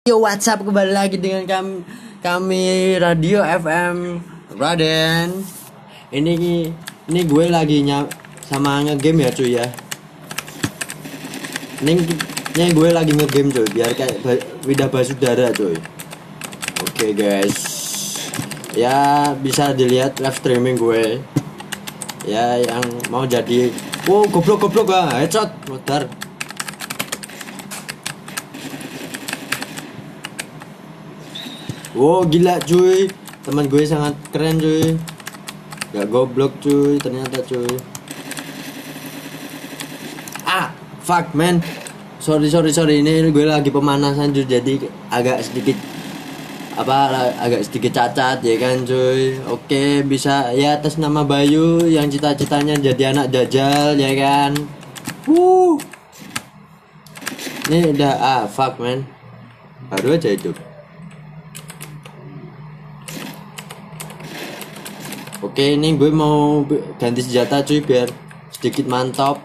Yo, WhatsApp kembali lagi dengan kami Radio FM Raden. Ini gue lagi sama ngegame ya cuy ya. Ini gue lagi ngegame cuy, biar kayak Wida Basudara cuy. Oke guys, ya bisa dilihat live streaming gue. Ya yang mau jadi, wow goblok headshot modar. Wow gila cuy, teman gue sangat keren cuy, gak goblok cuy ternyata cuy. Fuck man, sorry ini gue lagi pemanasan cuy, jadi agak sedikit cacat ya kan cuy. Oke, bisa ya atas nama Bayu yang cita-citanya jadi anak Dajjal ya kan. Ini udah fuck man, baru aja hidup. Oke, ini gue mau ganti senjata cuy biar sedikit mantap.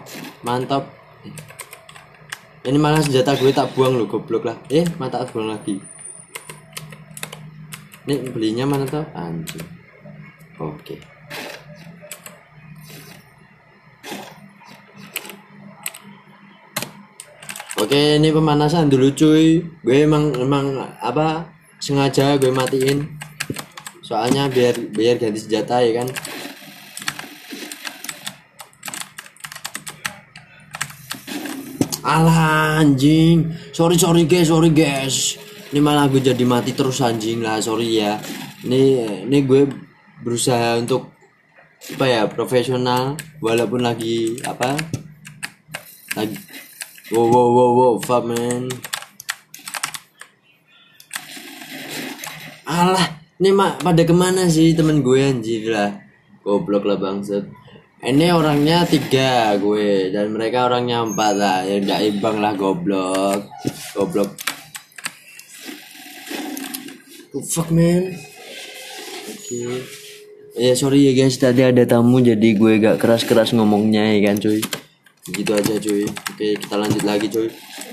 Ini malah senjata gue tak buang lo, goblok lah. Mata tak buang lagi. Ini belinya mana tuh? Anjing. Oke, ini pemanasan dulu cuy. Gue emang sengaja gue matiin. Soalnya biar ganti senjata ya kan. Alah anjing. Sorry guys. Ini malah gue jadi mati terus anjing lah, sorry ya. Ini gue berusaha untuk profesional walaupun lagi wow fuck man. Alah, ini pada kemana sih temen gue anjir lah. Goblok lah bangsat. Ini orangnya 3 gue dan mereka orangnya 4 lah. Ya udah imbang lah goblok. Fuck man. Oke. Ya sorry ya guys, tadi ada tamu jadi gue gak keras ngomongnya ya kan cuy. Gitu aja cuy. Oke, kita lanjut lagi cuy.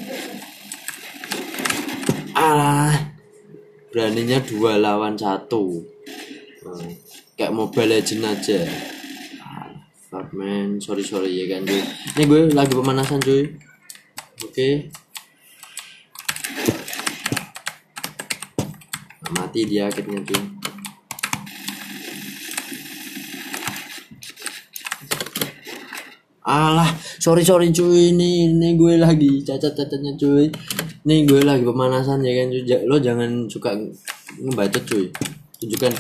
Beraninya 2 lawan 1. Kayak Mobile Legends aja. Fuck man, sorry ya kan cuy. Ini gue lagi pemanasan cuy. Oke. Mati dia akhirnya cuy. Alah, sorry cuy, ini gue lagi cacat-cacatnya cuy. Nih gue lagi pemanasan ya kan cuy. Lo jangan suka ngebacot cuy. Tunjukkan.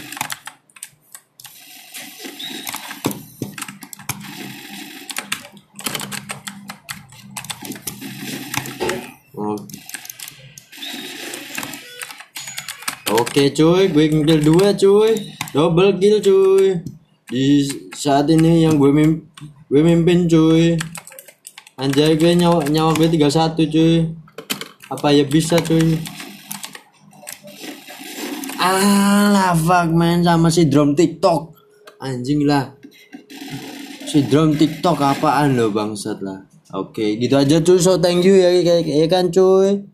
Oke cuy, gue kill 2 cuy. Double kill cuy. Di saat ini yang gue mimpin cuy. Anjay, gue nyawa gue 31 cuy. Apa ya bisa cuy. Alah fuck man, sama si drum TikTok. Anjing lah. Si drum TikTok apaan lo bangsat lah. Oke, gitu aja cuy. So thank you ya kan cuy.